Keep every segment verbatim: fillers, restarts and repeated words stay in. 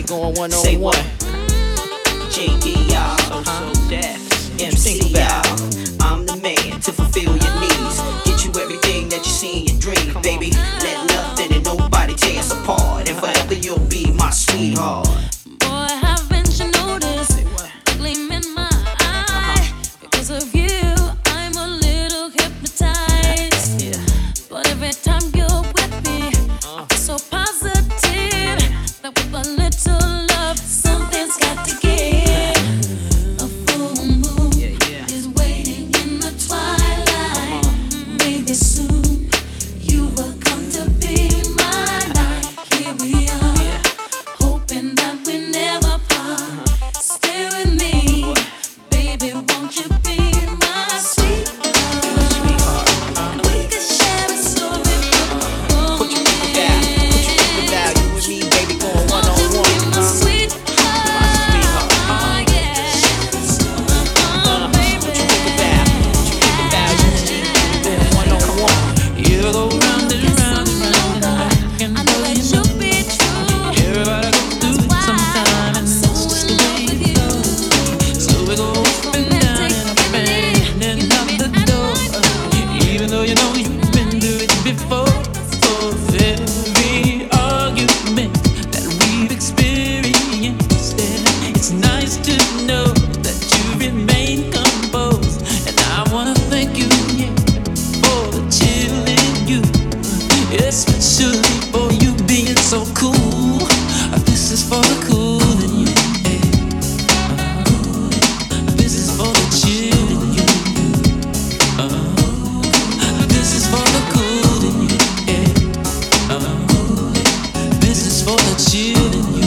going one on one. Say what? J D, y'all. So, so deaf. M C, y'all. I'm the man to fulfill your needs. Get you everything that you see in your dream, baby. Let nothing and nobody tear us apart. And forever you'll be my sweetheart. Boy, haven't you noticed the gleam in my eye? Because of you, I'm a little hypnotized. Yeah. But every time you're with me, I feel so positive that with a little love, something's got to give. A full moon Yeah, yeah. is waiting in the twilight. Maybe soon you will come to be mine. Here we are, hoping that we never part. Stay with me, baby, won't you be my sweetheart? And we could share a story for Put your people down. Put your people down. You and me, baby, going one on one. my sweetheart, yes. Oh, baby. Put your people down. Put your people down. You and me, going one on one. You go round and round and round, and I can I know know that you you'll be true. Everybody go through it sometime, and that's just the way it goes. So we go up and down and up and out the door. Even though you know you've been through it before. For every argument that we've experienced, it's nice to know that you remain composed. And I wanna thank you, yeah, for the chill in you, especially for you being so cool. This is for the cool in you, yeah. This is for the chill in you. Uh, This is for the cool in you, yeah. Uh, This is for the chill in you.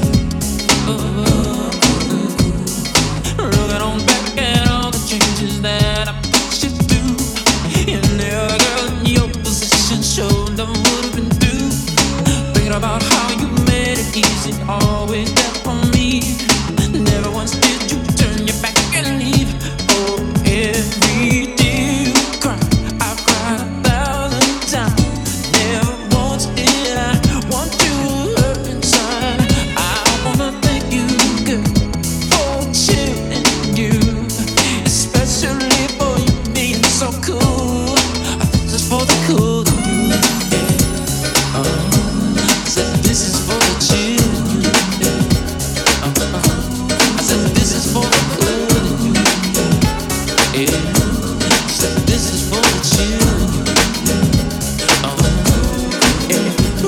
Oh, looking on back at all the changes that I put you through. You never, girl, in your position showed them what have been through. Thinking about how you made it easy, always there for me. Never once did you turn your back and leave. Oh, every day you cry, I've cried a thousand times. Never once did I want to hurt inside. I wanna thank you, girl, for chilling you, especially for you being so cool. This is for the cool in you, yeah. Uh, I said this is for the chill in you, yeah. Uh, I said this is for the cool in you, yeah. I said this is for the chill in you, yeah. Uh, yeah.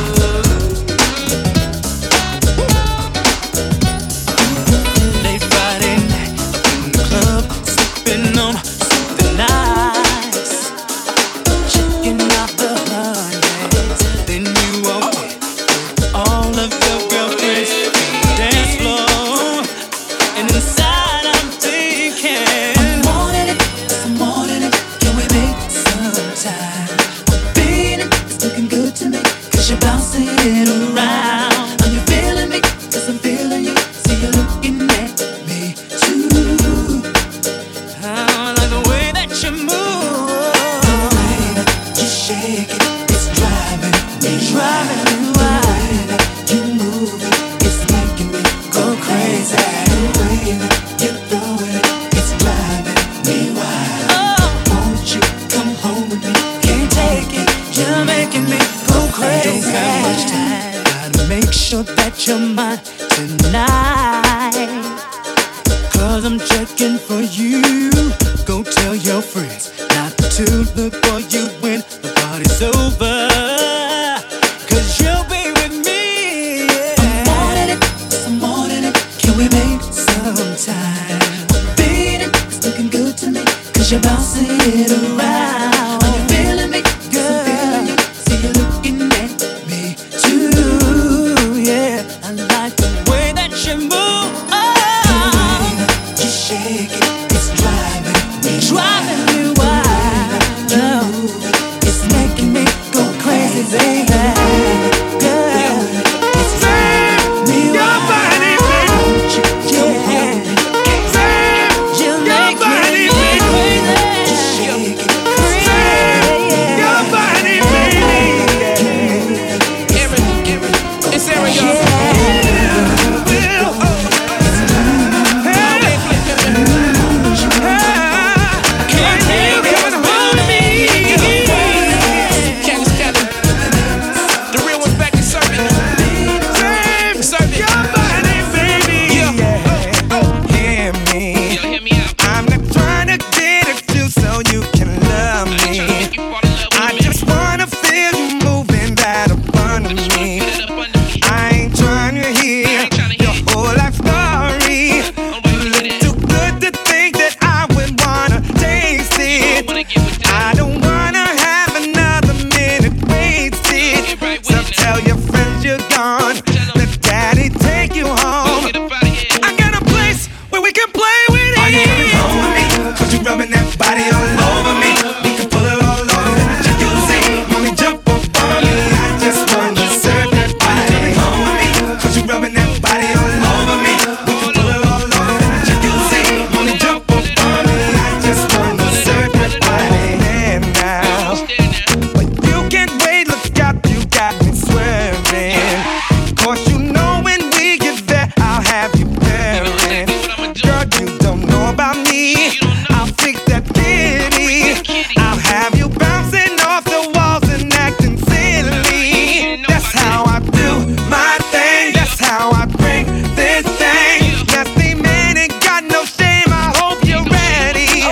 Late Friday night, up in the club, sipping on something nice, checking out the hundreds. Then you walk in, all of your girlfriends on the dance floor, and inside I'm thinking, I'm wanting it, I'm wanting it. Can we make some time? Being it, it's looking good to me, 'cause you're bouncing it around. Are you feeling me? 'Cause I'm feeling you. See you looking at me too. I like the way that you move. The way that you shake it, it's driving me driving me wild. The way that you move it, it's making me go crazy. The way that you throw it, it's driving me wild. Won't you come home with me? Can't take it, you're making me go crazy. Don't got much time, gotta make sure that you're mine tonight. 'Cause I'm checking for you. Go tell your friends not to look for you when the party's over. 'Cause you'll be with me, yeah. I'm wanting it, I'm wanting it. Can we make some time? Beat it, it's looking good to me, 'cause you're bouncing it around. Are you feeling me? 'Cause I'm feeling you. See you looking at me too, yeah. I like the way that you move. Oh, the way that you shake it, it's driving me driving me wild. You move it, it's making me go crazy, baby. Girl, it's driving me wild. Won't you come home with me? You make me go crazy. You shake it, it's driving me wild. It's Ariel. I'm not trying to get at you so you can love me. I just wanna feel you moving that up under me. I ain't trying to hear your whole life story. You look too good to think that I would wanna taste it. I don't wanna have another minute wasted. So tell your friends you're gone. Let daddy take you home. I got a place where we can play with it. Are you coming home with me? Cause you rubbing that body all over me. We can pull it all over. You say, mommy, jump up on me. I just wanna serve that body. Are you coming home with me? Cause you rubbing that body all over me. We can pull it all over. You say, mommy, jump up on me. I just wanna serve that body. And now, but you can't wait, look out, you got me swearing. Cause you know when we get there, I'll have you bearing. Girl, you don't know about me. I'll fix that kitty. I'll have you bouncing off the walls and acting silly. That's how I do my thing. That's how I bring this thing. Nasty man ain't got no shame. I hope you're ready.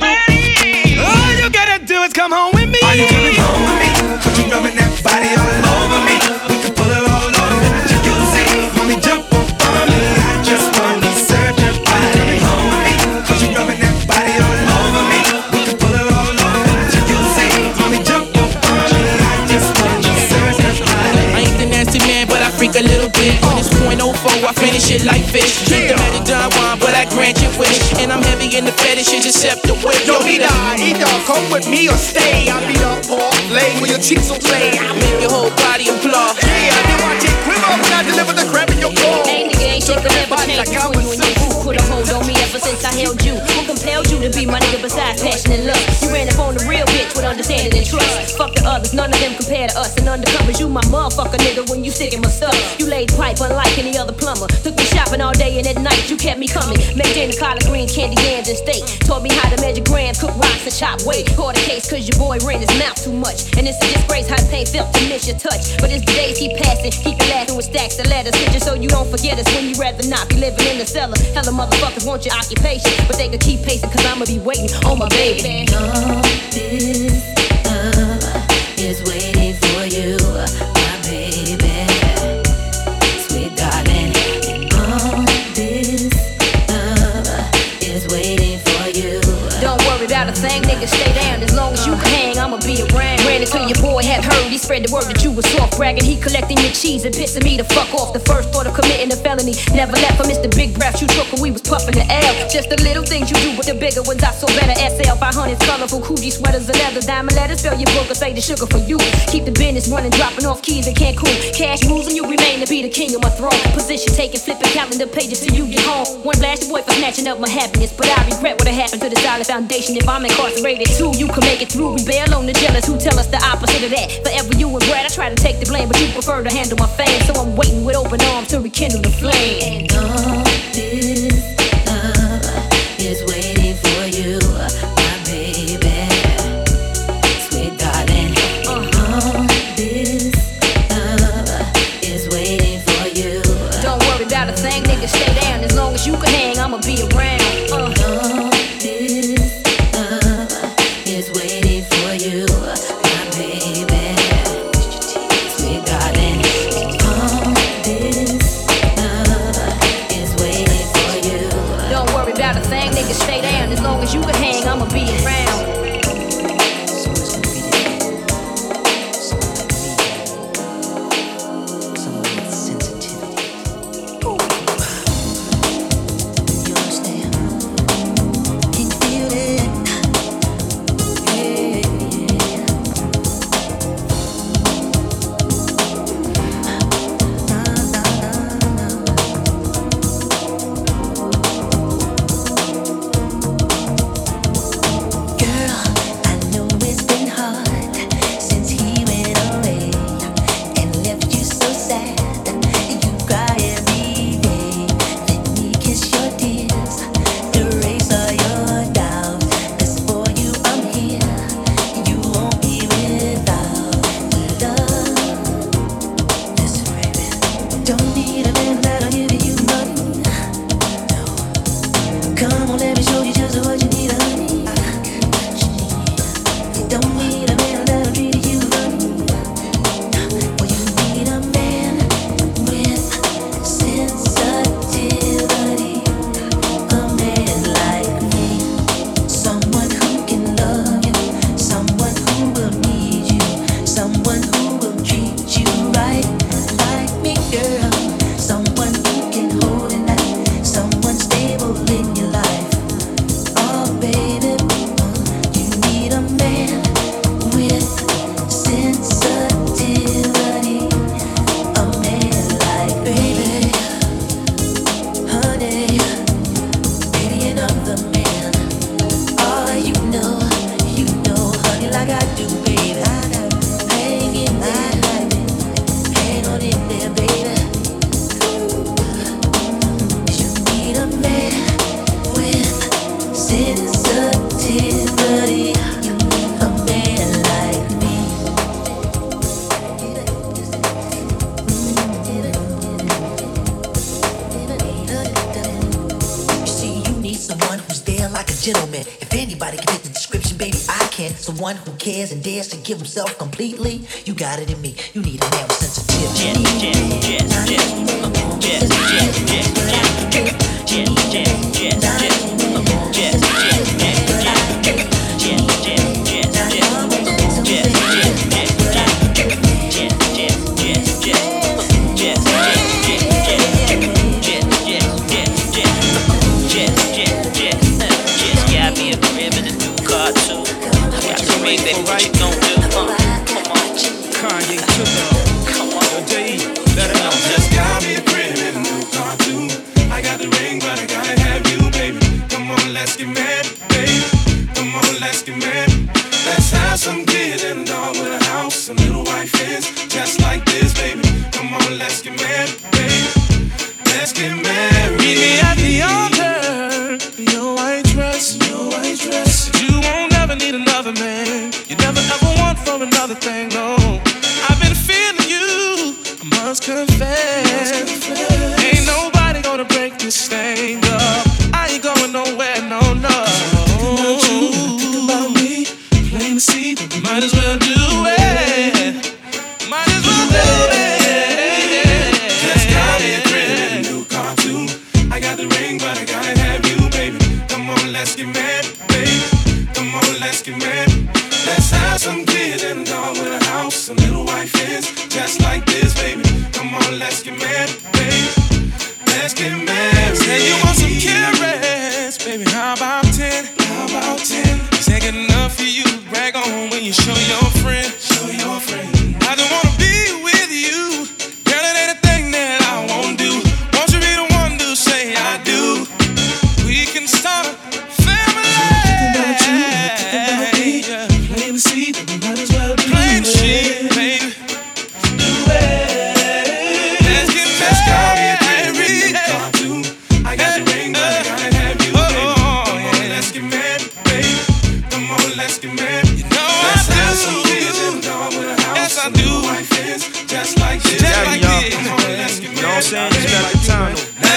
All you gotta do is come home with me. Are you coming home with me? Cause you rubbing that body all over me. We can pull it all over. You say, mommy, jump up on me. I just wanna serve your body. Coming home with me. Cause you rubbing that body all over me. We can pull it all over. You say, mommy, jump up on me. I just wanna serve your body. I ain't the nasty man, but I freak a little bit. On this point oh four, I finish it like fish. Drink the magic Don Juan, but I grant your wish. And I'm heavy in the fetishes, except the whip. Yo, either, either come with me or stay. I beat up pork, lay with your cheeks will play. I make your whole body applaud. Yeah, I do I take quiver when I deliver the crab in your core. Ain't nigga, ain't shit could ever change between you and your boo. Put a hold on me ever since I held you. Who compelled you to be my nigga besides passion and love? You ran up on the real bitch with understanding and trust. Fuck the others, none of them compare to us. And undercovers, you my motherfucker nigga when you sick in my stuff. You laid pipe unlike any other plumber. Took me shopping all day and at night you kept me coming. Maintained the collard greens, candy yams and steak. Taught me how to measure grams, cook rocks and chop weight. Caught a case cause your boy ran his mouth too much. And it's a disgrace how the pain felt to miss your touch. But it's the days keep passing, keep you laughing with stacks of letters. Just so you don't forget us when you rather not be living in the cellar. Hella motherfuckers want your occupation, but they could keep pacing cause I'ma be waiting on my baby. All this love is waiting for you, my baby, sweet darling. And all this love is waiting for you. Don't worry about a thing, nigga, stay down. As long as you can hang, I'ma be around. Ran until your boy had heard. He spread the word that you was soft bragging. He collecting your cheese and pissing me the fuck off. The first thought of committing a felony. Never left for Mister Big Breath. You took when we was puffing the L. Just the little things you do, but the bigger ones I saw better. S L five hundreds, colorful Coogee sweaters and leather. Diamond letters, fill your book or say the sugar for you. Keep the business running, dropping off keys in Cancun. Cash moves and you remain to be the king of my throne. Position taking, flipping calendar pages till you get home. One blast your boy for snatching up my happiness, but I regret what happened to the solid foundation. If I'm incarcerated too, you can make it through. We bail on the jealous who tell us the opposite of that. Forever you and Brad, I try to take the blame, but you prefer to handle my fame. So I'm waiting with open arms to rekindle the flame. And all this love is waiting for you, my baby, sweet darling. All this love is waiting for you. Don't worry about a thing, nigga, stay down. As long as you can hang, I'ma be around. Uh. All this love is waiting for you, my baby, sweet darling. All this love is waiting for you. Don't worry about a thing, nigga, stay down. As long as you can hang, I'ma be around. gentleman. If anybody can fit the description, baby, I can. Someone who cares and dares to give himself completely. You got it in me. You need a man with sensitivity. Baby, what you gon' do? Uh, come on, Kanye to the, come on, yo, J E, let him know. Just got me a crib and a new car too. I got the ring, but I gotta have you, baby. Come on, let's get married, baby. Come on, let's get married. Let's have some kids and a dog with a house, a little wife is just like this, baby. Come on, let's get married, baby. Let's get married. Meet me at the altar, your white dress, your white dress. You won't ever need another man. You never ever want for another thing, no. I've been feeling you, I must confess. Ain't nobody gonna break this thing up. I ain't going nowhere, no, no. Think about you, think about me. Plain to see, but we might as well do it. Might as well do it. Just got me a crib and a new car too. I got the ring, but I gotta have you, baby. Come on, let's get married, baby. Come on, let's get married. Let's have some kids and a dog with a house, a little wife is just like this, baby. Come on, let's get married, baby. Let's get married. Say you want some carrots, baby. How about ten? How about ten? Is that good enough for you to brag on when you show your friend? Show your friend. I just wanna be with you. Girl, it ain't a thing that I won't do. Won't you be the one to say I do? We can start a family. Think about you, think about me. Yeah. Plain to see, but we might as well do Plain it. shit, baby. Do it. Let's get Just got me a crib and a married. new car too. I got the ring, but I gotta have you, baby. Come on, let's get married, baby. Come on, let's get married. You know Let's I have do. some kids and a dog with a house. Yes, I a little do. wife is just like this. Just like Come this. on, let's get You know what I'm saying? married. Just got the time.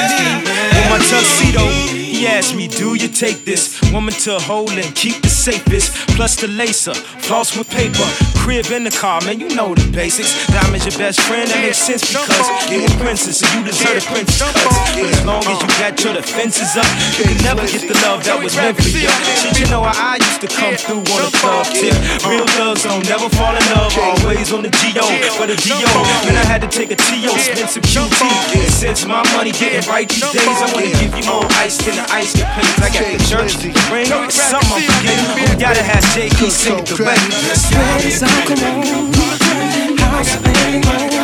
With my tuxedo, he asked me, do you take this woman to hold and keep the safest? Plus the lacer, floss with paper, crib in the car, man, you know the basics. Diamond's your best friend, that makes sense because you're a princess and you deserve the princess cuts. But as long as you got your defenses up, you can never get the love that was meant for you. Shit, you know how I used to come through on a thug tip. Real thugs don't never fall in love, always on the G O. For the D O, man, I had to take a T O, spend some Q T. And since my money getting right these days, I wanna give you more ice than the ice can please. I got the church, the ring, some I'm forgetting. We gotta have J K sing it the way. Sweaters on, come on. House band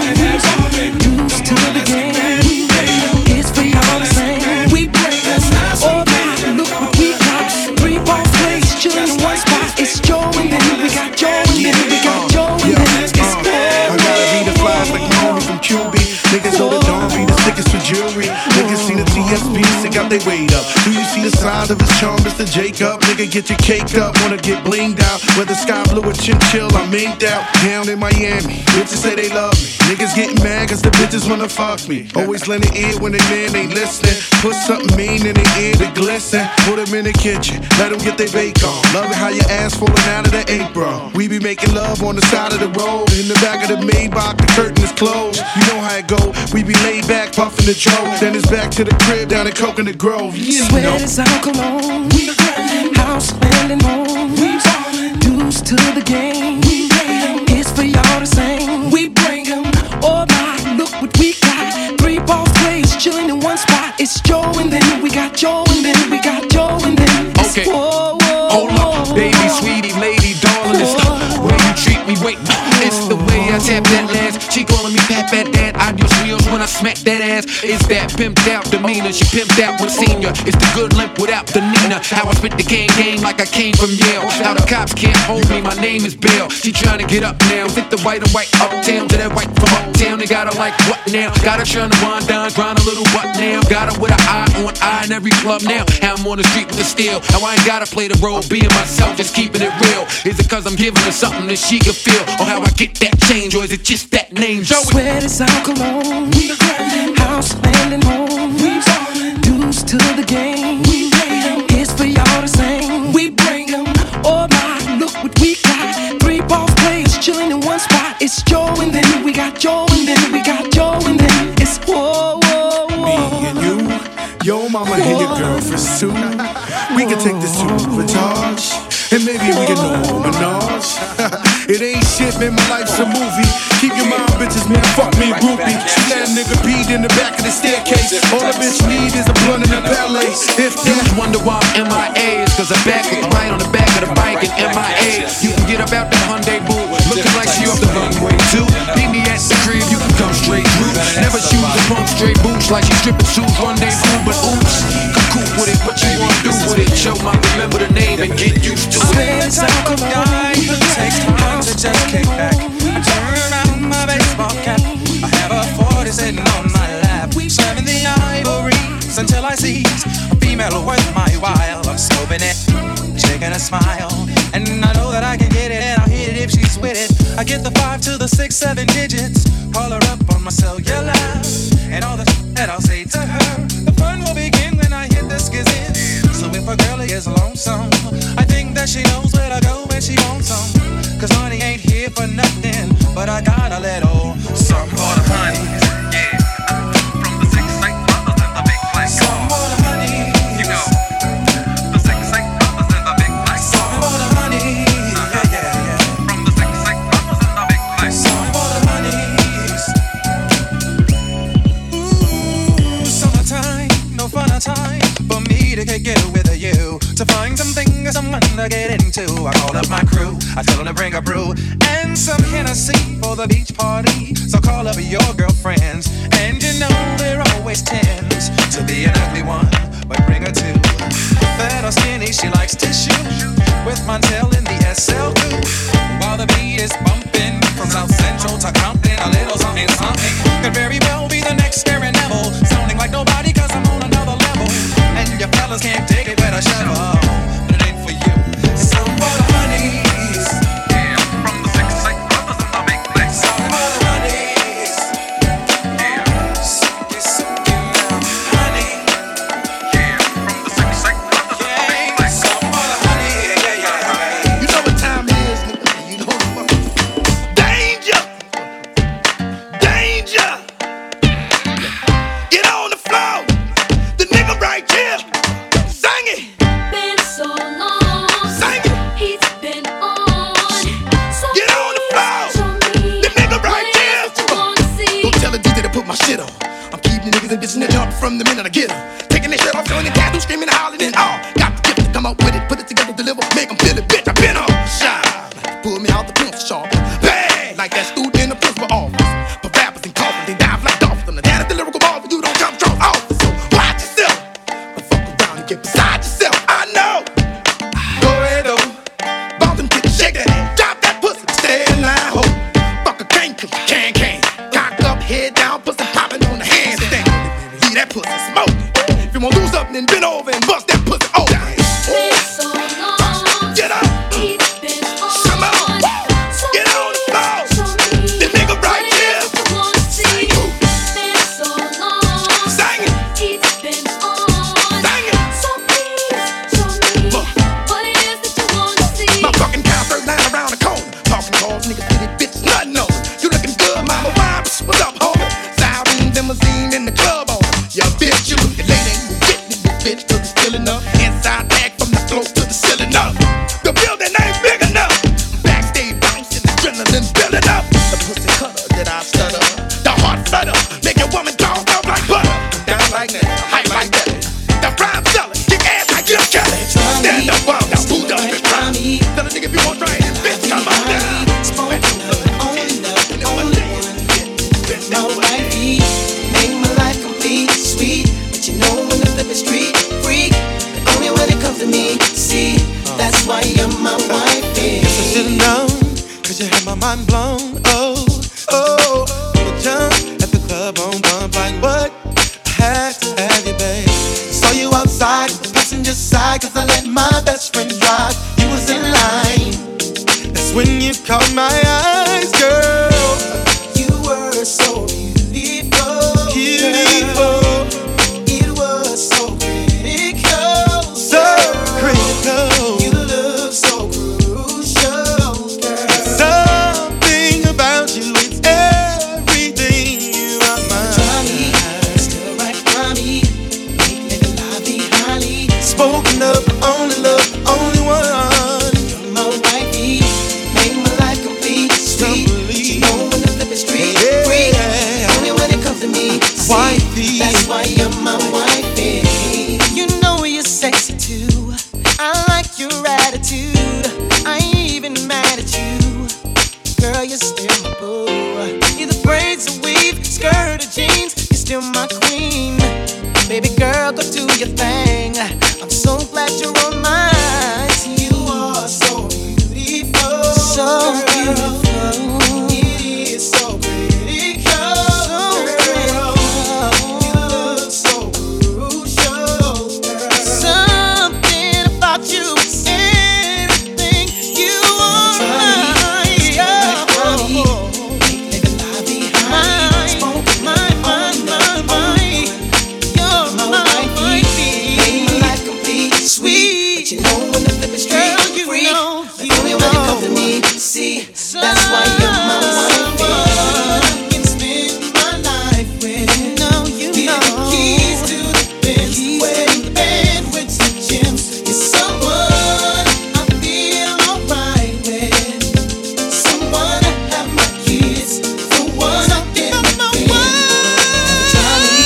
on. Used to the game. It's for y'all the same. We break us all back. Look what we got. Three ball plays, chillin' in one spot. It's Joe and then we got Joe and then we got Joe and then it's I gotta be the flies like my homie from Q B. Niggas know the Don be the sickest for jewelry. Niggas see the T S B, stick out they weight up. Do you see the signs of his charm, Mister Jacob? Nigga, get your cake up, wanna get blinged out. Whether sky blue or chinchill, I'm inked out. Down in Miami, bitches say they love me. Niggas getting mad cause the bitches wanna fuck me. Always lend an ear when they man ain't listening. Put something mean in their ear to glisten. Put them in the kitchen, let them get their bake on. Love it how your ass falling out of the apron. We be making love on the side of the road. In the back of the Maybach, the curtain is closed. You know how it go. We be laid back, puffing the Joe. Then it's back to the crib down in Coconut Grove. You know. Sweaters on, cologne. We house spending home. We dues to the game. It's for y'all the same. We bring 'em all night. Look what we got. Three ball plays, chillin' in one spot. It's Joe and then we got Joe and then we got Joe and then it's okay. Whoa, whoa, hold up, baby, sweetie, lady, darling. It's the way you treat me. Wait, it's the way I tap that last. She calling me pat pat dad. Adios wheels when I smack that ass. It's that pimped out demeanor. She pimped out with senior. It's the good limp without the Nina. How I spit the gang game like I came from Yale. How the cops can't hold me. My name is Bill. She trying to get up now. Fit the white and white uptown to that white from uptown. They got her like what now? Got her trying to wind down, grind a little butt now. Got her with an eye on eye in every club now. How I'm on the street with the steel. How I ain't gotta play the role, being myself, just keeping it real. Is it cause I'm giving her something that she can feel? Or how I get that change? Or is it just that name? Joey? Sweaters on, cologne. House spending home. Dues to the game. It's for y'all the same. sabotage. And maybe we can know menage. It ain't shit, man, my life's a movie. Keep your mind, bitches, man, fuck me, groupie. That nigga peed in the back of the staircase. All a bitch need is a blunt and a ballet. If you wonder why I'm M I A, it's cause I back with the light on the back of the bike and M I A. You can get about that Hyundai Boo, looking like she off the runway too. Meet me at the crib, you can come straight through. Never shoes or pump straight boots like she stripping shoes rendezvous. But oops, come cool with it, what you wanna do with it? Show my remember the name and get used to it. Spend time with a guy who takes time to just kick back. I turn around my baseball cap. I have a forty sitting on my lap, serving the ivories until I seize a female worth my while. I'm scoping it, shaking a smile, and I know that I can get it, and I'll hit it if she's with it. I get the five to the six, seven digits, call her up on my cellular, and all the shit that I'll say to her. The fun will begin when I hit the skizzit. So if a girlie is lonesome, I think that she knows where to go when she wants some. Cause money ain't here for nothing, but I got a little some for the honey. Yeah, from the six eight brothers in the big place. Some for the honey, you know. The six eight brothers in the big place. Some for the honey, yeah, yeah, yeah. From the six eight brothers in the big place. Some for the honeys. Ooh, summertime, no fun a time for me to kick it with you. To find something or someone to get into, I call up my crew, I tell them to bring a brew and some Hennessy for the beach party. So call up your girlfriends, and you know there always tends to be an ugly one, but bring her two. Fat or skinny, she likes tissue, with Montel in the S L two. While the beat is bumping from South Central to Compton, a little something something could very well be the next Scary Neville, sounding like nobody cause I'm on another level. And your fellas can't dig it with a shovel, but it ain't for you. Some for the honeys, yeah, from the six eight brothers in the big place. Some for the honeys, yeah, suck it, suck it now, honey, yeah, from the six eight brothers in the big place. Some for the honeys, yeah, yeah, yeah. You know what time it is, nigga? You know what the fuck? Danger! Danger! Get on the floor! The nigga right here! Sing it! Been so long. Sing it! He's been on. So Get on the floor! The nigga right here! Go tell the D J to put my shit on. I'm keeping the niggas and bitches in the jump from the minute I get them. Taking their shit off, showing the tattoo, screaming, hollering, and all. Got the gift to come out with it, put it together, deliver, make them feel it, bitch. I been on. Shine. Pull me out the pencil sharp. Bang! Like that student in the principal office. But rappers and coffins, they dive like dolphins. I'm the dad of the lyrical ball, but you don't jump strong off. So watch yourself. But fuck around and get beside yourself. I know. Go ahead, though. Bounce and kick, shake that ass. Drop that pussy, stay in line, ho. Fuck a cane, cause you can, can. Cock up, head down, pussy popping on the handstand. Leave that pussy smoke. If you wanna do something, then bend over and bust that pussy open. Been so long. Get up. He's been on. Come on. So Get on the floor. show me The nigga right what it here. is that you wanna see. Been so long. Sing it. He's been on. Sing it. So please show me Look. what it is that you wanna see. My fucking cow third line around the corner. Talking calls, niggas get it, bitch, nothing on. You looking good, mama. Why? What's up, homie? Siren, limousine in the club on. Yeah, bitch, you looking late, ain't you getting it, this bitch, cause it's still enough. Inside tag from the floor to the ceiling up. The building ain't big enough. Backstage bouncing, adrenaline building up. The pussy cutter that I stutter. The heart flutter, make your woman dog out like butter. Down like that, hype like that. The prime seller, kick ass like Jim Kelly. Stand up, wild, now who does it? Tell a nigga if you want to try it, bitch, come on down. Make my life complete, sweet. But you know when the flip is street freak, only when it comes to me. See, that's why you're my wifey. Guess I should've known, cause you had my mind blown. Oh, oh, wanna jump at the club on bump like what? I had to have you, babe. Saw you outside, the passenger side, cause I let my best friend drive. You was in line, that's when you caught my eyes, girl. You were so beautiful, Beautiful, it was so critical, so critical. you look so crucial, girl. Something about you, it's everything. You are mine. Still right by me, make nigga lie behind me. Spoken of, only love, only attitude. I ain't even mad at you. Girl, you're still my boo. Either braids or weave, skirt or jeans, you're still my queen. Baby girl, go do your thing. I'm so glad you're on my team. You are so beautiful, so beautiful. It is so critical, so critical. You look so crucial. Something about you is everything. You are mine. My, my, my, my. You're my wifey. Make my life complete, sweet. But you know when the flip is straight, girl, you freak. Know, you the only know. One that comes to me. See, that's why you're my wifey. I can spend my life with. You know, you Give know. The keys to the Benz, wedding the band with some gems. You're someone I feel alright with. Someone to have my kids. The one I get my Johnny.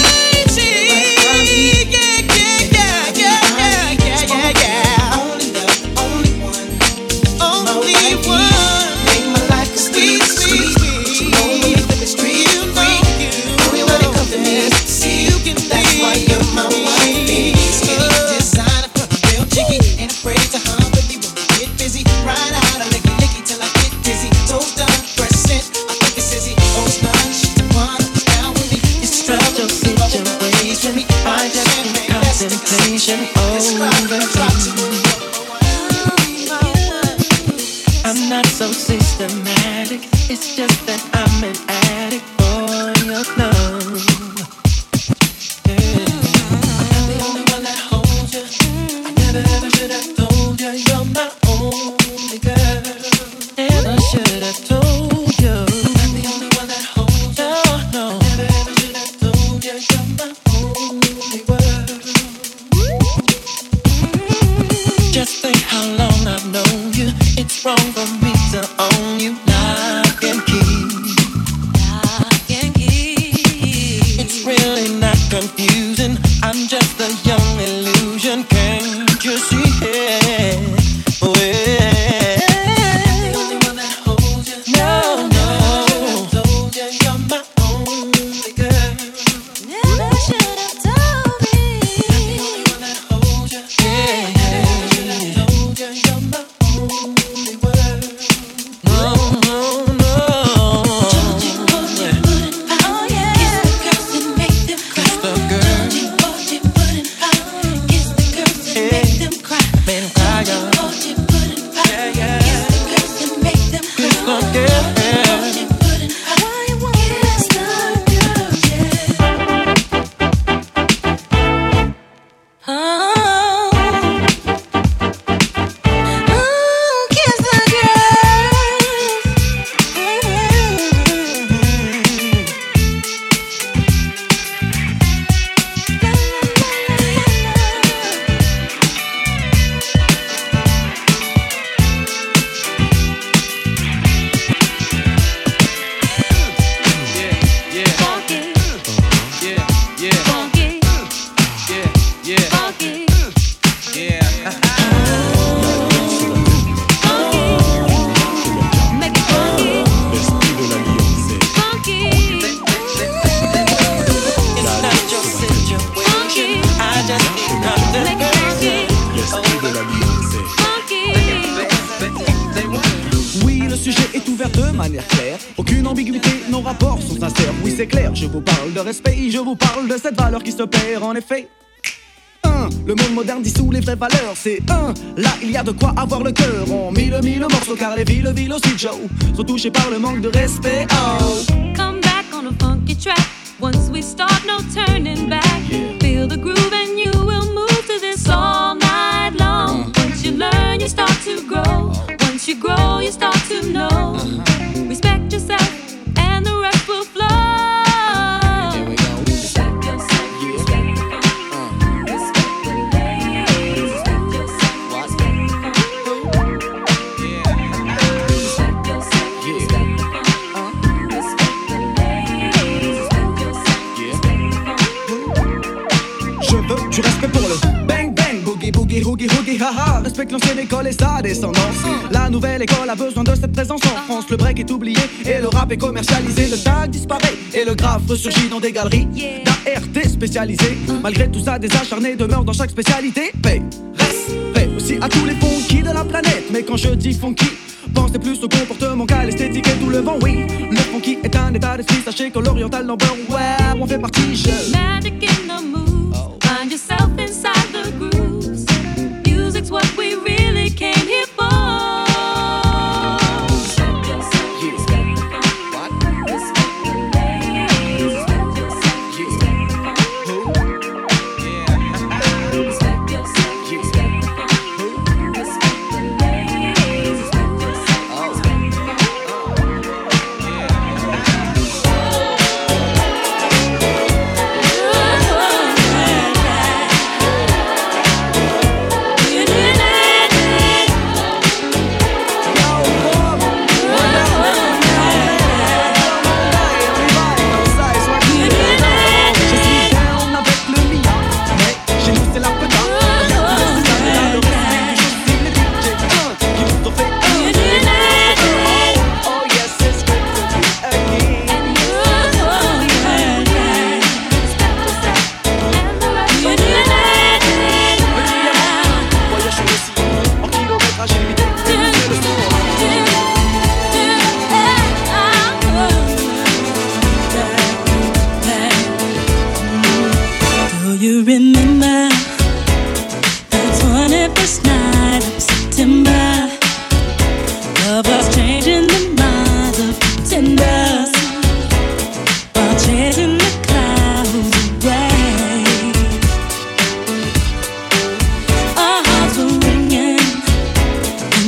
Contemplation over I'm not so systematic. It's just that I'm an addict for your love. Yeah. I'm the only one that holds you. I never ever should have told you you're my only girl. Never should have told you. I'm the only one that holds you. No, no. I never ever should have told you you're my only world. Just think how long I've known you. It's wrong for me to own you. Lock and key. Lock and key. It's really not confusing. I'm just a young illusion. Can't you see it? Well, I'm the only one that holds you. No, no. I should have told you you're my only girl. Never should have told me. I'm the only one that holds you. Yeah, yeah. Never should have told you you're my only world. No, no, no. Told you what you wouldn't find. Oh yeah. Kiss the girls and make them cry. Kiss the girls. Told you what you wouldn't find. Kiss the girls and make them cry. Make them cry, y'all. Told you what you wouldn't find. Yeah, yeah. Kiss the girls and make them cry. Kiss the girls. Told you wouldn't find. Why you won't kiss the girls? Yeah. Oh. Oui, le sujet est ouvert de manière claire. Aucune ambiguïté, nos rapports sont sincères. Oui, c'est clair, je vous parle de respect, je vous parle de cette valeur qui se perd en effet. Un, le monde moderne dissout les vraies valeurs. C'est un, là il y a de quoi avoir le cœur. On mille mille morceaux car les villes, villes aussi Joe sont touchés par le manque de respect. Oh. Come back on a funky track. Once we start, no turning back. Yeah. Feel the groove and you will move to this all night long. Uh. Once you learn, you start to grow. Once you grow, you start to know. Uh-huh. Respect yourself and the rest will flow. Here we go. Respect yourself, yeah. Respect the funk. Uh. Respect the ladies. Respect yourself, what? Respect the funk. Yeah. Respect yourself, yeah. Respect the funk. Uh. Respect the ladies. Respect yourself, yeah. Respect the funk. Je veux respecte l'ancienne école et sa descendance. La nouvelle école a besoin de cette présence en France. Le break est oublié et le rap est commercialisé. Le tag disparaît et le graphe ressurgit dans des galeries d'A R T spécialisées. Malgré tout ça, des acharnés demeurent dans chaque spécialité. Paix, respect aussi à tous les funky de la planète. Mais quand je dis funky, pensez plus au comportement qu'à l'esthétique et tout le vent, oui. Le funky est un état d'esprit, sachez que l'oriental number one, on fait partie, je... Magic in the moves, oh. Find yourself inside the grooves. Music's what we really came here for. Respect yourself, yeah. Respect the funk. What? Respect the ladies. Respect yourself, yeah. Respect the funk. Who? Yeah. Respect yourself, yeah. Respect the funk. Who? Respect the ladies. Respect yourself, oh. Respect the funk. You remember the twenty-first night of September? Love was changing the minds of pretenders while chasing the clouds away. Our hearts were ringing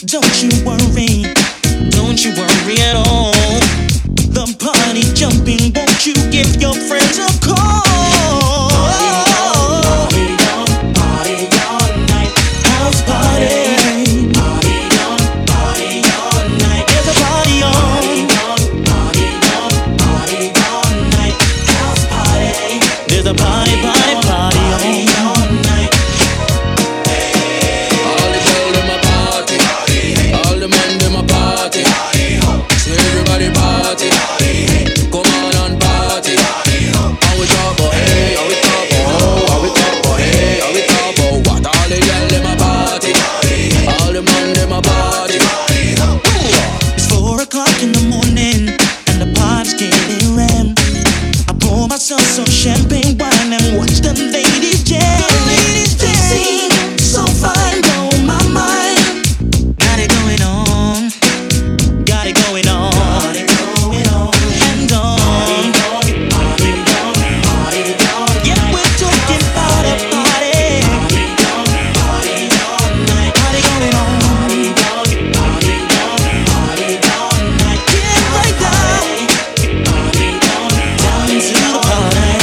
Don't you worry, don't you worry at all. The party jumping, won't you give your friends a call? Party on, party all night, house party. Party on, party all night, there's a party on. Party on, party all night, house party. There's a party, party, party on. All night. All the girls in my party, all the men in my party. See everybody party. Come on and party. How we talk about hey, how we talk about oh, how we talk about hey, how we talk about what? All the girls in my party, all the men in my party. It's four o'clock in the morning and the party's getting rammed. I pour myself some champagne wine and watch the ladies jam. Ladies jam, so fine, blow my mind. Got it going on, got it going on, got it going on and on. Yeah, we're talking about a party. Party going on. Get right down, down into the party.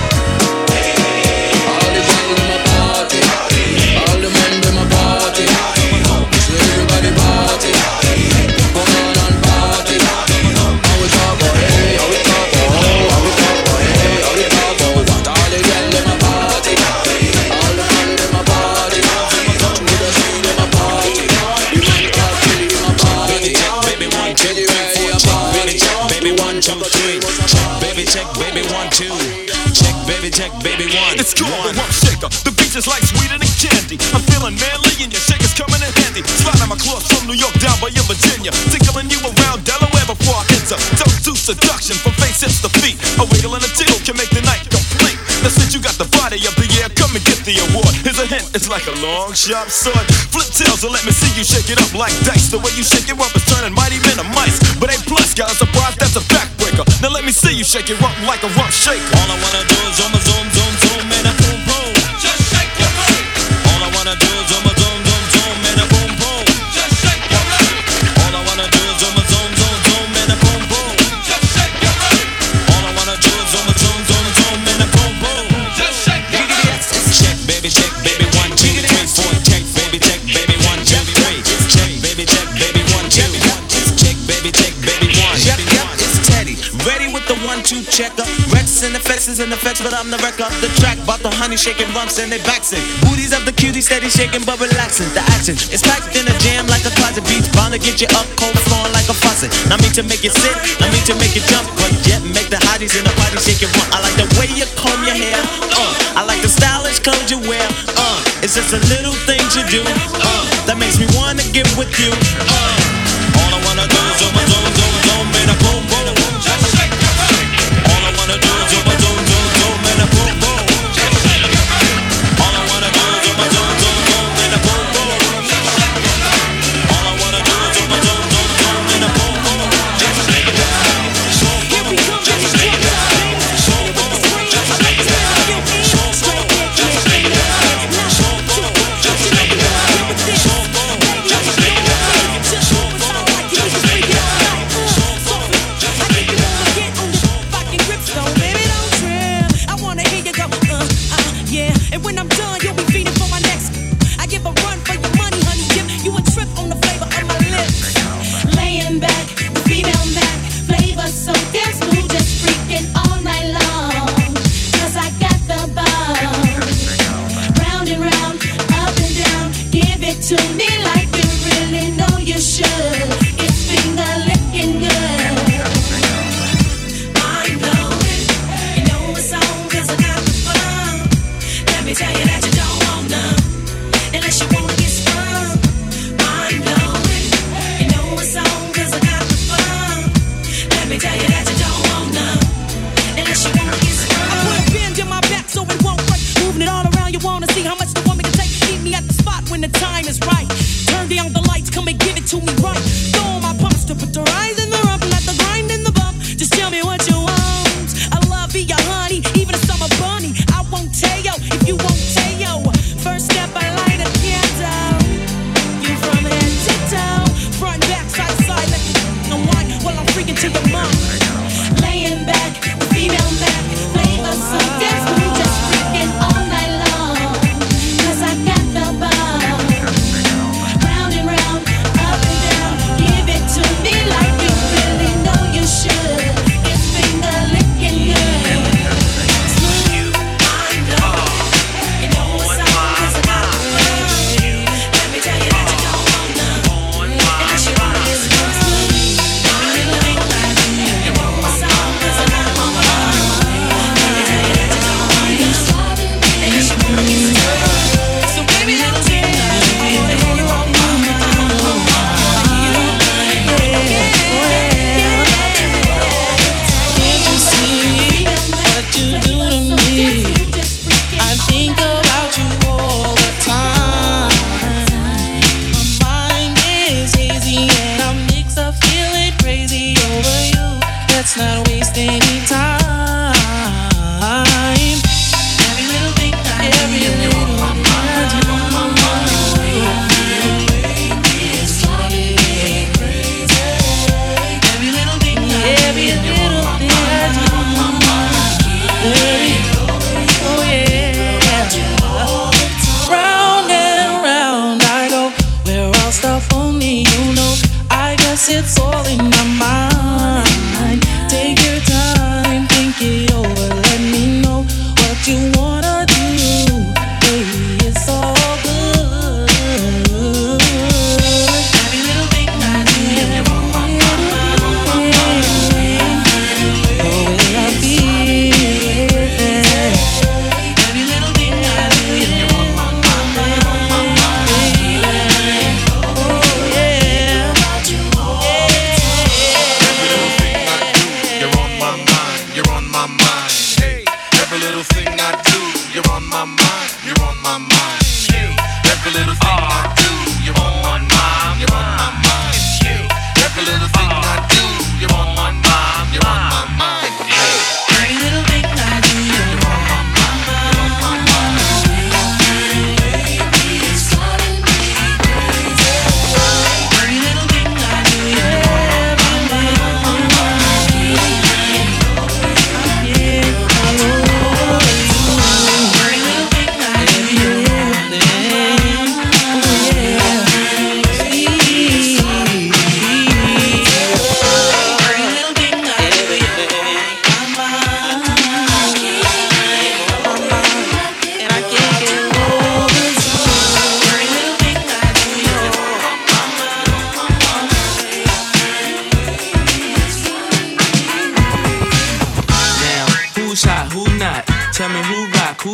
All the girls in my party, all the men in my party. See everybody party. Come on and party. How we talk about hey, how we talk about oh, how we talk about hey, how we talk about what? All the girls in my party, all the men in my party. Touch me the scene in my party. You might talk to me in my party. Baby one, two, three, four, check, baby check, baby one, two, three, check, baby check, baby one, two, check, baby check, baby one. It's called the rump shaker. The beach is like sweeter than candy. I'm feeling manly and your shaker's coming in handy. Sliding my clothes from New York down by your Virginia. Tickling you around Delaware before I enter. Don't do seduction from face hips to feet. A wiggle and a tickle can make the night complete. Now since you got the body of the year, come and get the award. Here's a hint, it's like a long sharp sword. Flip tails and let me see you shake it up like dice. The way you shake it up is turning mighty men to mice. But A plus, got a surprise, that's a backbreaker. Now let me see you shake it up like a rump shaker. All I wanna do is zoom, zoom, zoom, zoom, and a boom, boom. Just shake your butt. All I wanna do is zoom, zoom, zoom, zoom, and a boom, boom. Just shake your butt. All I wanna do is zoom, zoom, zoom, zoom, and a boom, boom. Just shake your butt. All I wanna do is zoom, zoom, zoom, zoom, and a boom, boom. Just shake your butt. Check, baby check, baby one, two, three, four, check, baby check, baby one, two, three, check, baby check, baby one, two, check, baby check, baby one. Yep, yep, it's Teddy, ready with the one two checker. Rex and effects is in effects, but I'm the wreck of the track. Bought the honey shaking bumps and they backs it. Booties of the cutie steady shaking but relaxing. The action is packed in a jam like a closet beach. Bound to get you up cold flowing like a faucet. Not me to make you sit, not me to make you jump, but yet make the hotties in the party shake it run. I like the way you comb your hair, uh. I like the stylish clothes you wear, uh. It's just the little things you do, uh. That makes me wanna get with you, uh. All I wanna do is zoom, zoom, zoom, zoom, and a boom, boom. Just shake your body. All I wanna do is zoom, zoom, zoom, zoom, and a boom, boom. Just shake your body. All I wanna do is zoom, zoom, zoom, zoom, and a boom, boom. Just shake your body. All I wanna do is zoom, zoom, zoom, zoom, and a boom, boom. Just shake your body. Here we come, just shake your body. Just shake your body. Just shake your body. Just shake your body. Just shake your body. Just shake your body. Just shake your body. First step, I light a candle. You from head to toe.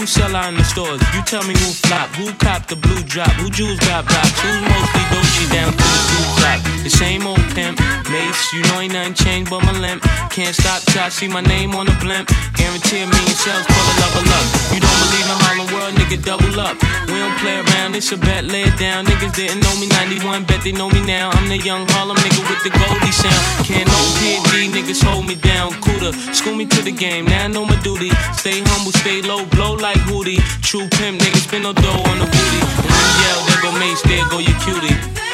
sell out in the stores? You tell me who flop, who cop the blue drop, who jewels got blocks, who's mostly Dolce down to the blue top. The same old pimp, mates, you know ain't nothing changed but my limp. Can't stop till I see my name on the blimp. Guarantee a million sales, pull a level up. You don't believe in Harlem World, nigga, double up. We don't play around, it's a bet, lay it down. Niggas didn't know me ninety-one, bet they know me now. I'm the young Harlem nigga with the Goldie sound. Can't no P and D, niggas hold me down. Cooler, school me to the game, now I know my duty. Stay humble, stay low, blow like Hootie. True pimp, niggas spin no dough on the booty. And when you yell, there go Mace, there go your cutie.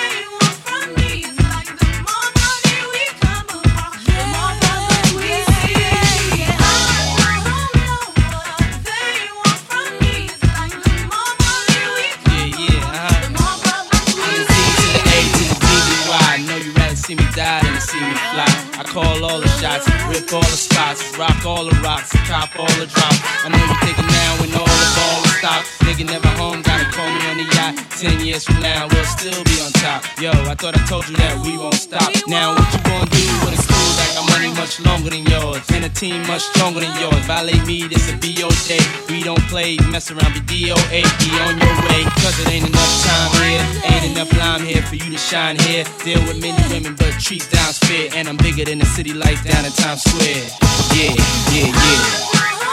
See me die than to see me fly. I call all the shots, rip all the spots, rock all the rocks, cop all the drops. I know you thinking now when all the ball is stopped. Nigga never home, gotta call me on the yacht. Ten years from now, we'll still be on top. Yo, I thought I told you that we won't stop. Now what you gonna do with a crew that got money much longer than yours, and a team much stronger than yours? Violate me, this a B O J. We don't play, mess around, be D O A. Be on your way, cause it ain't enough time here. Ain't enough lime here for you to shine here. Deal with many women, but treat down's fair. And I'm bigger than the city lights down in Times Square. Yeah, yeah, yeah.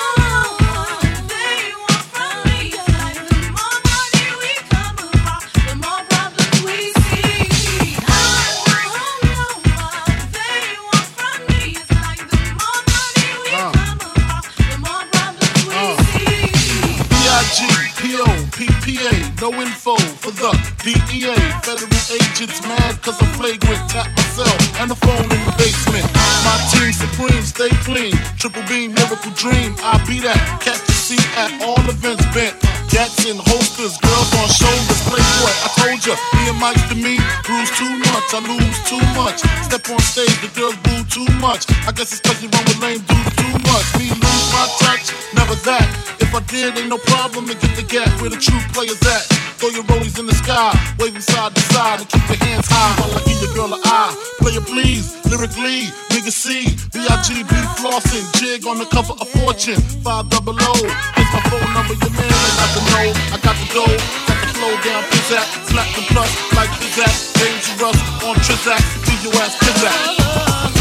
P A, no info for the D E A. Federal agents mad cause I'm flagrant. Tap myself and the phone in the basement. My team supreme, stay clean. Triple beam, miracle dream. I be that. Catch the seat at all events bent. Gats in holsters, girls on shoulders. Playboy, I told ya, me and Mike's to me. Bruise too much, I lose too much. Step on stage, the girls boo too much. I guess it's cause you run with lame dudes too much. Me lose my touch, never that. If I did, ain't no problem to get the gap where the true players at. Throw your rollies in the sky, waving side to side, and keep your hands high while I give your girl an eye. Player please, lyrically, nigga C, B I G B flossing, jig on the cover of Fortune, five double O. Here's my phone number, your man, I got the know, I got the dough, got the flow down, pizzazz, slap the plus, like pizzazz, dangerous on Trizak, do your ass pizzazz.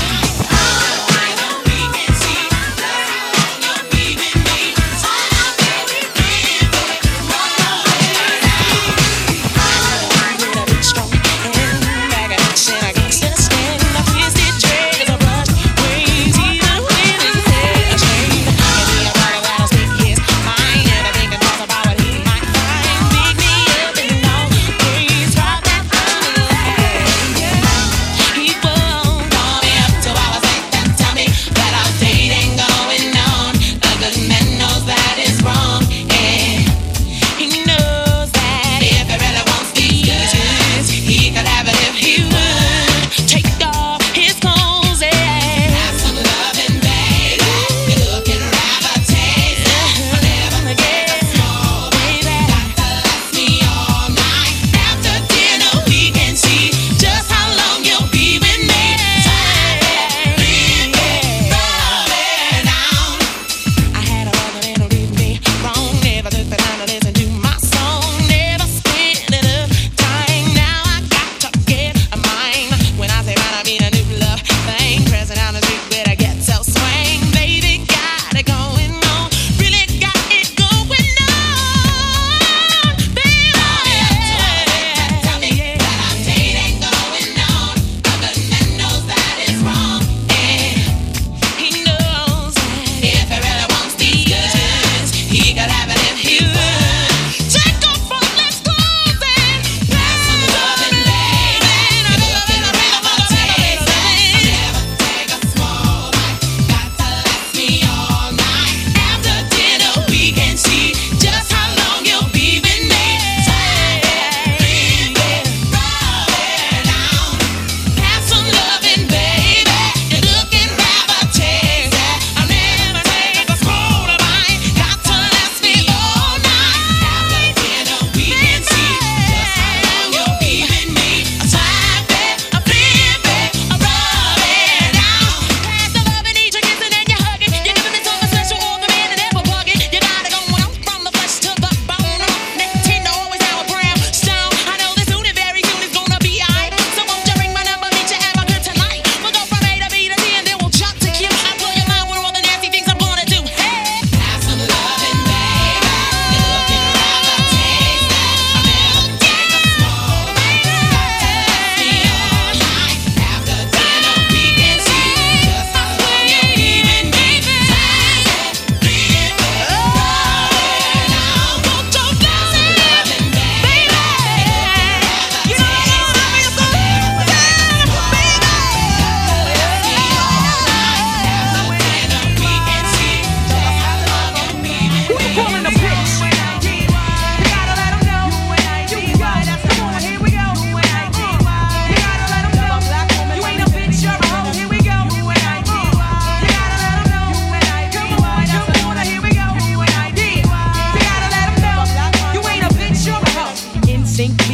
He won't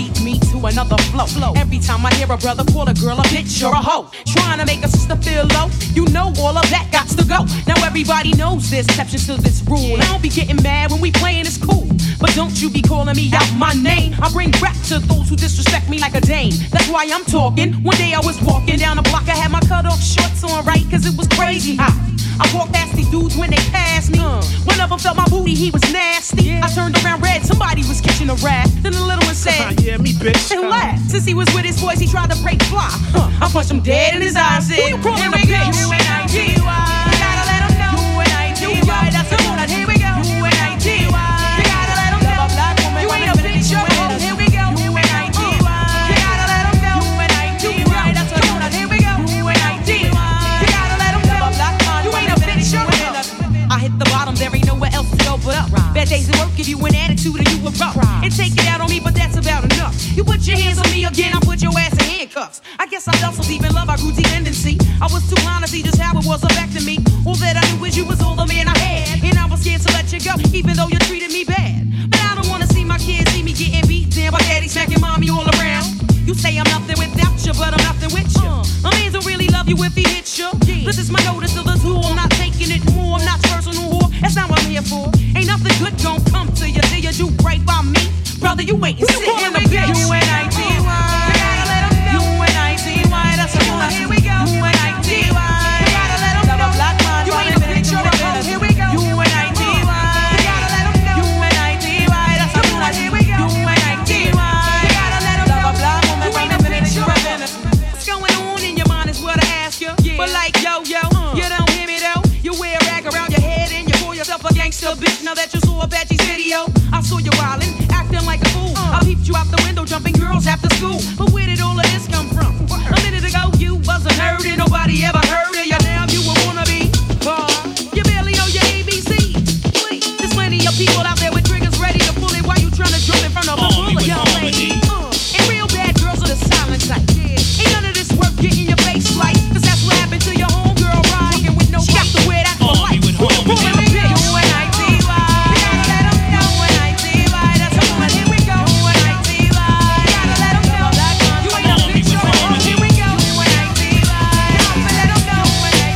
lead me to another flow. flow. Every time I hear a brother call a girl a bitch or a hoe, trying to make a sister feel low, you know all of that got to go. Now everybody knows there's exceptions to this rule. I don't be getting mad when we playing, it's cool, but don't you be calling me out my name. I bring rap to those who disrespect me like a dame. That's why I'm talking. One day I was walking down the block, I had my cut off shorts on right, cause it was crazy hot. I walked past these dudes when they passed me. Uh. One of them felt my booty, he was nasty. Yeah. I turned around red, somebody was catching a rat. Then the little one said, yeah, me bitch. And laughed. Since he was with his boys, he tried to break fly. Uh. I punched him dead in his eyes. Said, who you calling a bitch? U N I T Y. You gotta let him know. U N I T Y. That's the one. Here we go. U N I T Y. You gotta let him know. You ain't a bitch, you're a hoe. Here we go. U N I T Y. You gotta let him know. U N I T Y. That's the one. Here we go. U N I T Y. You gotta let him know. You ain't a bitch, you're a hoe. I hit the bottom, there ain't nowhere else to go but up. Bad days at work give you an attitude and you a rough. And take it out on me, but that's about enough. You put your hands on me again, I put your ass in handcuffs. I guess I felt so deep in love, I grew dependency. I was too blind to see just how it was back to me. All that I knew was you was all the man I had, and I was scared to let you go, even though you treated me bad. But I don't wanna see my kids see me getting beat down by daddy smacking mommy all around. You say I'm nothing without you, but I'm nothing with you. A man don't really love you if he hits you. This is my notice to the tool, I'm not taking it more. I'm not personal whore, that's not what I'm here for. Ain't nothing good gon' come to you till you do right by me. Brother, you ain't sit in the bitch. U N I T Y. You gotta let him know. U N I T Y. That's the one. Here we go. U N I T Y. You gotta let him know. You ain't a bitch, you're a hoe. Here we go. U N I T Y. You gotta let him know. U N I T Y. That's the one. Here we go. U N I T Y. You gotta let him know. You ain't a bitch, you're a hoe. What's going on in your mind is what I ask you. But like yo yo, you don't hear me though. You wear a rag around your head and you call yourself a gangster bitch. Now that you saw Apache's video, I saw you wildin', acting like a fool. I peeped you out the window, jumping girls after school. But where did all of this come from? A minute ago you wasn't heard and nobody ever heard of you. Now you a wannabe. Bar. You barely know your A B C. There's plenty of people out there with triggers ready to pull it while you trying to jump in front of a bullet. Young lady. Uh, and real bad girls are the silent type. Yeah. Ain't none of this work getting your face like, cause that's what happened to your homegirl rockin' with no got to wear that for life. Pulling a bitch. U N I T Y. You gotta let 'em know. U N I T Y. That's the one. Here we go. U N I T Y. You gotta let 'em know. You ain't a bitch, you're a hoe. Here we go. U N I T Y. You gotta let 'em know. U N I T Y.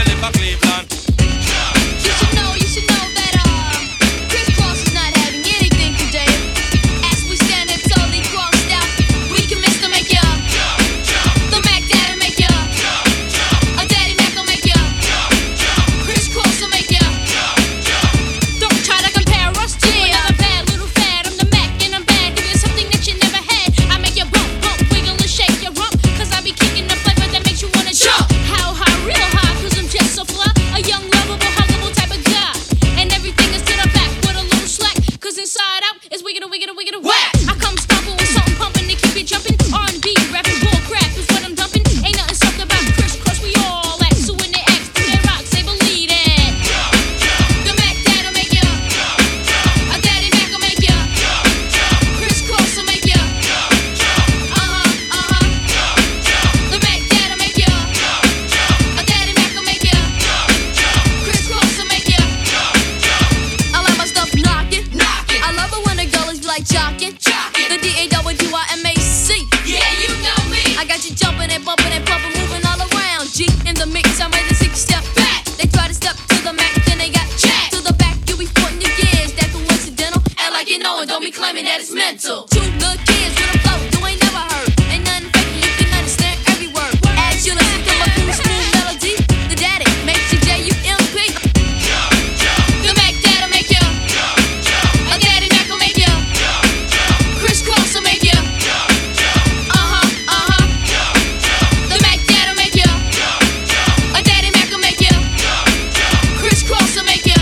you live in Cleveland. You should know, you should know that uh, Chris Cross is not having anything today. As we stand there totally crossed out, we commence to make ya. The Mac Daddy make ya. A Daddy Mac will make ya. Chris Cross will make ya. Don't try to compare us to another bad little fad. I'm the Mac and I'm bad. Doing something that you never had. I make you bump, bump, wiggle and shake your rump. Cause I be kicking the flavor that makes you wanna jump. How high, real high, cause I'm just so fly. A young, lovable, huggable type of guy. And everything is to the back with a little slack. Cause inside out is wiggin' wiggin' wiggin' whack. I come stomping with something pumping to keep you jumping. R and B, rapping bull crap is what I'm dumping. Ain't nothing soft about Chris Cross, we all act. So when they ask, do they rock, say believe it. The Mac Dad'll make ya. A Daddy Mac will make ya. Chris Cross will make ya. Uh-huh, uh-huh. The Mac Dad'll make ya. A Daddy Mac will make ya. Chris Cross will make ya. I like my stuff knockin', knockin'. I love it when the girls be like jockin', jockin'. The D A W I M A C. Yeah, you know me. I got you jumpin' and bumpin' and pumpin', moving all around. G in the mix, I'm ready to take a step back. They try to step to the Mac, then they got jacked. To the back, you be putting your gears. That coincidental. And like you know it, don't be claiming that it's mental. Two good kids with a flow, you ain't never heard. Ain't nothing fake, you can understand every word. As you listen to my cool, smooth melody, the daddy makes you J U M P. The Mac Dad'll make ya. A Daddy Mac will make ya. Chris Cross will make ya. Uh-huh, uh-huh. The Mac Dad'll make ya. A Daddy Mac will make ya. Chris Cross will make ya.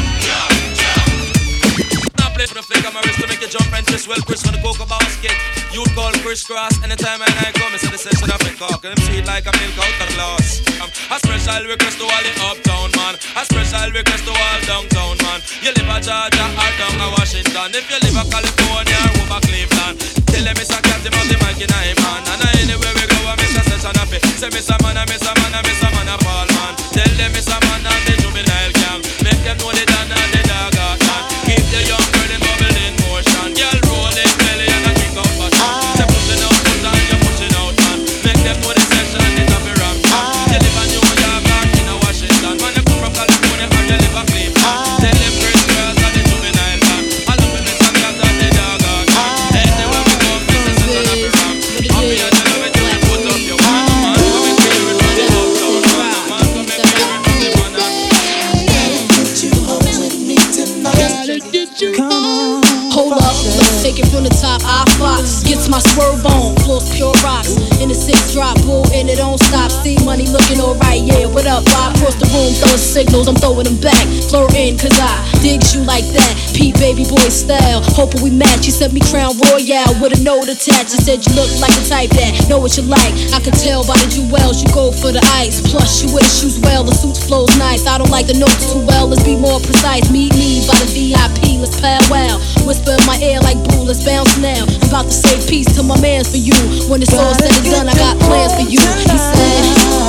Now play for the flick of my wrist to make you jump and twist. Well, Chris for the cocoa basket. You call Chris Cross anytime I come. It's the session of a cock. And I'm sweet like a milk out of glass. Um, a special request to all the uptown man. A special request to all downtown man. You live at Georgia or down at Washington. If you live at California or over Cleveland, tell them it's a cat about the mic in a man. And anywhere we go, I miss a session of it. Say miss a man, I miss a man, I miss a man, a Paul man. Tell them it's a man and the juvenile gang. Make them know the dan and the dog out man. Keep the young girl in bubble in motion. Girl rolling belly and a kick out button. Say pushing out, put on, you're pushing out man. Make them know the session is a be rock man. You live in New York or in a Washington. Man, you come from California or you live in Cleveland. Tell them Chris Cross and the juvenile gang. I love when it's a cat and the dog out man. Anywhere we go, this is a be rock. I'm here to love it, you put up your man. Man, come and feel it from the uptown man. Man, come and feel it from the man. Get you home with me tonight. Come on. Hold up, let's take it from the top. I Fox gets my swerve on, floors pure rocks. In the six drop, bull, and it don't stop. See money looking alright, yeah. What up? I cross the room, throwing signals, I'm throwing them back. Flirting, cause I digs you like that. P baby boy style, hoping we match. You sent me Crown Royale with a note attached. You said you look like the type that know what you like. I can tell by the jewels, you go for the ice. Plus, you wear the shoes well, the suit flows nice. I don't like the notes too well, let's be more precise. Meet me by the V I P, let's powwow. Whisper in my ear like boo, let's bounce now. I'm about to say peace to my mans for you. When it's all said and done, I got plans for you. He said,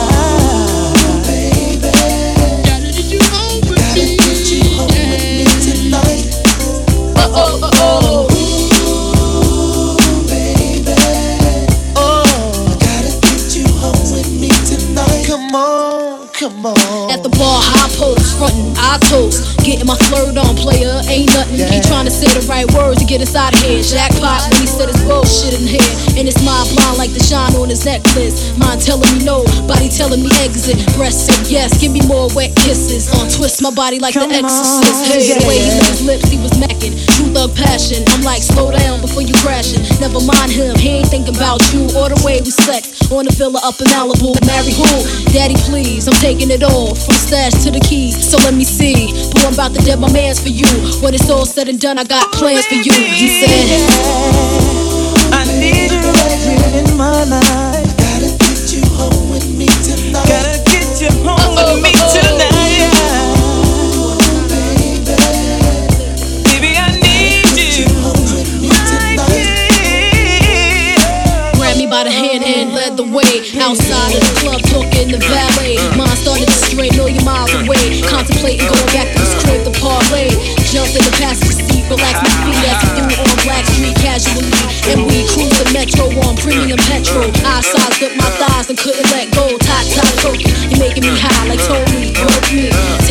Baby, gotta get you home with me. Gotta get you home with me tonight. Uh oh, uh oh. Ooh, baby. Oh, gotta get you home with me tonight. Come on, come on. At the bar, high post, frontin', I toast. Getting my flirt on, player, ain't nothing. Yeah. Keep trying to say the right words to get inside of here. Jackpot when he said his bullshit in here. And it's mind blind like the shine on his necklace. Mind telling me no, body telling me exit. Breast said yes, give me more wet kisses. On twist my body like Come the exorcist. on, Hey, the way he yeah. lit his lips, he was macking. True thug passion. I'm like, slow down before you crashing. Never mind him, he ain't thinking about you or the way we sex. On the villa up in Malibu. Marry who? Daddy, please, I'm taking it all. From stash to the keys, so let me see. Boy, I'm about to dead my mans for you. When it's all said and done, I got plans for you. He said, I need you right here in my life. Gotta get you home with me tonight. Gotta get you home with me tonight. Baby, baby, I need you right here. grabbed me by the hand and led the way. Outside of the club, talking the valet. Mine started to stray a million miles away. Contemplating going back to the crib to parlay. Jumped in the passenger seat, relax my feet as we do on Black Street casually. And we cruise the metro on premium petrol. I sized up my thighs and couldn't let go. Tight, tight, choking. You're making me high like Tony. Broke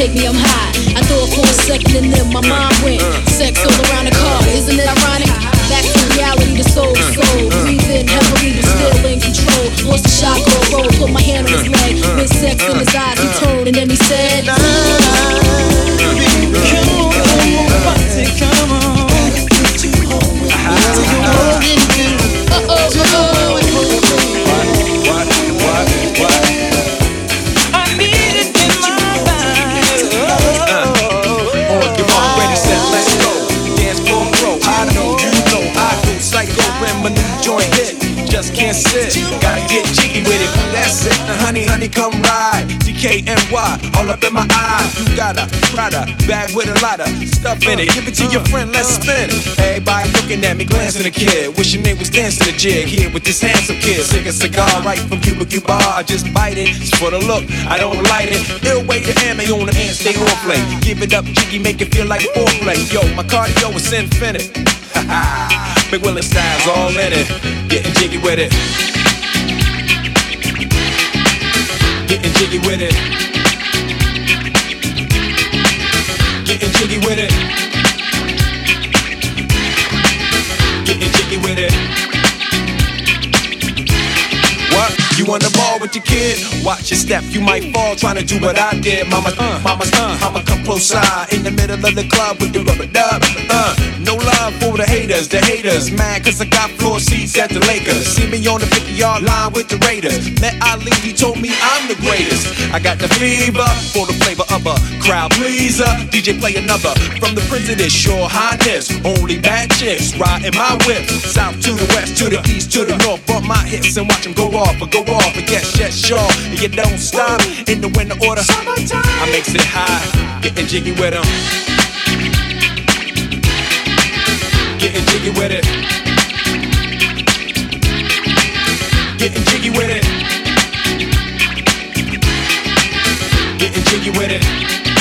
hit me, I'm high. I thought for a second and then my mind went. Sex all around the car, isn't it ironic? Back to reality, the soul to soul. Breathe in heavily, but still in control. Lost the shot, go roll, put my hand on his leg. With sex in his eyes, he turned and then he said, come on, come on. Just can't sit, gotta get jiggy with it. That's it, the honey, honey, come ride. D K N Y, all up in my eyes. You got a Prada bag with a lot of stuff in it. Give it to your friend, let's spin it. Everybody looking at me, glancing a kid. Wishing they was dancing a jig here with this handsome kid. Sick a cigar right from Cuba Cuba. I just bite it, it's for the look, I don't light it. Ill way to ammo on the hand, stay on play. Give it up, jiggy, make it feel like foreplay. Yo, my cardio is infinite. Big Willie style's all in it. Getting jiggy with it. Getting jiggy with it. Getting jiggy with it. Getting jiggy with it. What? You on the ball with your kid? Watch your step, you might fall trying to do what I did. Mama, uh, mama, uh, mama, come close side in the middle of the club with the rubber dub. Uh, no love for the haters, the haters mad cause I got floor seats at the Lakers. See me on the fifty yard line with the Raiders. Met Ali, he told me I'm the greatest. I got the fever for the flavor of a crowd pleaser. D J play another from the Prince of this Your Highness. Only bad chicks riding my whip. South to the west, to the east, to the north. Bump my hips and watch them go off, but go off. But yes, yes, sure. And you don't stop in the winter order. I makes it high, getting jiggy with them. Getting jiggy with it. Getting jiggy with it. Getting jiggy with it.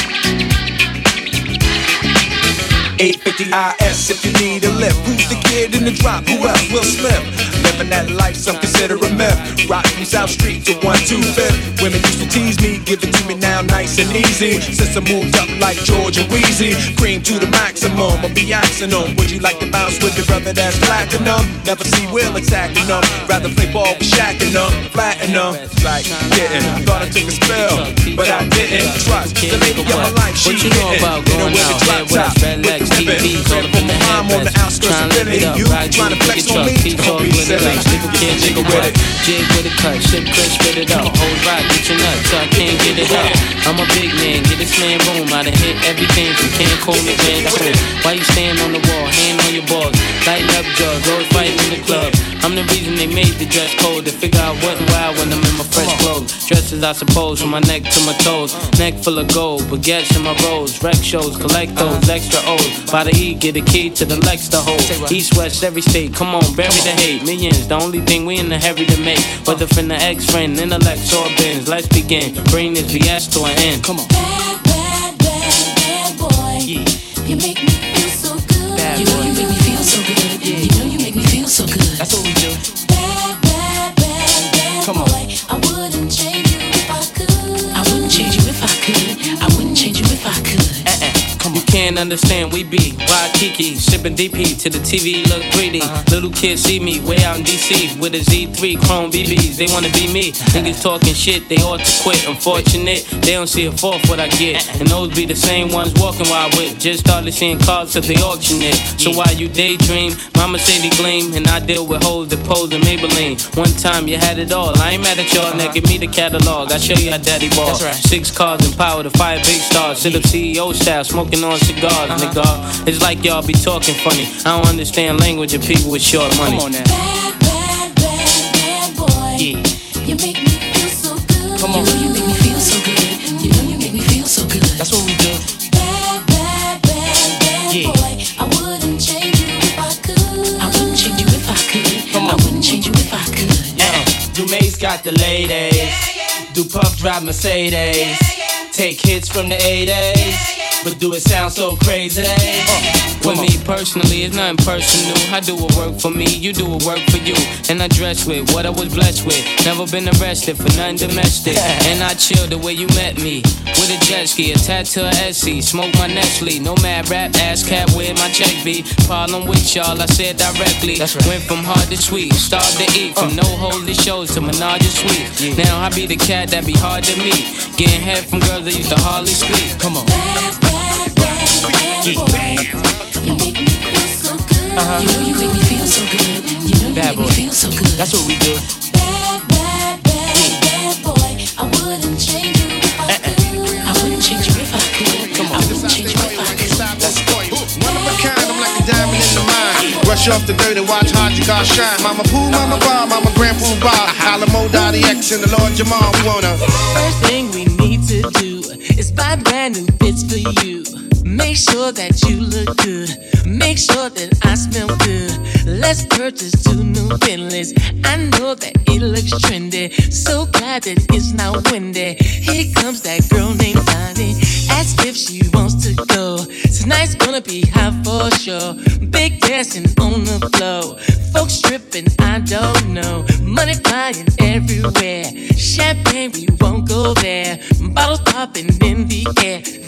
eight fifty I S if you need a lift. Who's the kid in the drop? Who else? Will Smith. Living that life, some consider a myth. Rock from South Street to one two fifth. Women used to tease me, give it to me now nice and easy. Since I moved up like George and Wheezy, cream to the maximum, I'll be asking them. Would you like to bounce with your brother that's platinum? Never see Will attacking them. Rather play ball with Shaq and them, flatten them. Like, getting, thought I took a spell, but I didn't. Trust the lady of my life, she what you know about going out here with us, red legs, T Vs, all up in the headrest, trying to live it up, ride you, pick your truck, keep all with it up, nigga can't jiggle with it, jig with a cut, shit crisp, spit it up, hold right, get your nuts, so I can't get it up. I'm a big man, get this man room, I done hit everything from Cancun to Cancun. Why you stand on the wall, hand on your balls, lighting up drugs, always fighting in the club. I'm the reason they made the dress code, to figure out what and why when I'm in my fresh clothes. Dresses I suppose, from my neck to my toes, neck full of gold, baguettes in my rolls, rec shows, collect those extra O's. By the E, get a key to the Lex to hold. East, west, every state, come on, bury the hate. Millions, the only thing we in the hurry to make. Whether from the ex-friend, intellect, or bins, let's begin. Bring this B S to an end. Come on. Bad, bad, bad, bad boy. Yeah. You make me feel so good. Bad you know you make me feel so good. Yeah. You know you make me feel so good. That's what we do. Bad, bad, bad, bad Come on. boy. I wouldn't change you if I could. I wouldn't change you if I could. I wouldn't change you if I could. You can't understand, we be Waikiki, shipping D P to the T V, look greedy. Uh-huh. Little kids see me way out in D C with a Z three Chrome B Bs. They wanna be me. Niggas talking shit, they ought to quit. Unfortunate, they don't see a fourth what I get. And those be the same ones walking while I with. Just started seeing cars cause they auction it. So while you daydream, mama say they gleam, and I deal with hoes that pose in Maybelline. One time you had it all, I ain't mad at y'all. Now give me the catalog, I show you how daddy ball. Right. Six cars and power to fire big stars. Sit up C E O style, smoking on cigars, uh-huh. Nigga. It's like y'all be talking funny. I don't understand language of people with short money. Come on now. Bad, bad, bad, bad boy. Yeah. You make me feel so good. Come on. You know you make me feel so good. You know you make me feel so good. That's what we do. Bad, bad, bad, bad yeah. boy. I wouldn't change you if I could. I wouldn't change you if I could. Come on. I wouldn't change you if I could. Yeah. Dumae's got the ladies. Do Puff drive Mercedes. Take hits from the eighties. but do it sound so crazy? For me personally, it's nothing personal. I do what work for me, you do what work for you. And I dress with what I was blessed with. Never been arrested for nothing domestic. And I chill the way you met me, with a jet ski, attached to a Essie. Smoke my Nestle, no mad rap, ass cat where my check be. Problem with y'all, I said directly. Went from hard to sweet, starved to eat. From no holy shows to menage a suite. Now I be the cat that be hard to meet. Getting head from girls that used to hardly speak. Come on. Bad, bad, bad, bad boy. You make me feel so good. Uh-huh. You know you make me feel so good. You know you Bad make boy. me feel so good. That's what we do. Bad, bad, bad, bad boy. I wouldn't change you if I could. I wouldn't change you if I could. Come on. I wouldn't change you if I could. One of a kind, I'm like a diamond in the mine. Brush off the dirt and watch Haji God shine. Mama Pooh, Mama Bob, Mama Grandpa Bob, Alamo Dottie X and the Lord Jamal. We wanna. First thing we need to do is buy brand new fits for you. Make sure that you look good. Make sure that I smell good. Let's purchase two new Bentleys. I know that it looks trendy. So glad that it's not windy. Here comes that girl named Bonnie. Ask if she wants to go. Tonight's gonna be hot for sure. Big dancing on the floor. Folks stripping, I don't know. Money flying everywhere. Champagne, we won't go there. Bottles popping in the air.